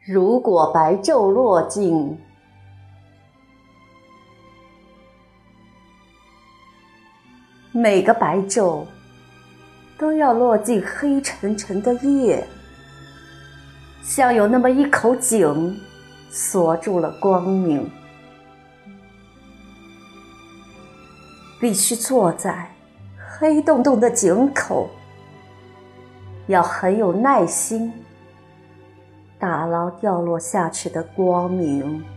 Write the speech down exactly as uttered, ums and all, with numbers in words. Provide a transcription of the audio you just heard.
如果白昼落尽，每个白昼都要落进黑沉沉的夜，像有那么一口井锁住了光明。必须坐在黑洞洞的井口，要很有耐心，打捞掉落下去的光明。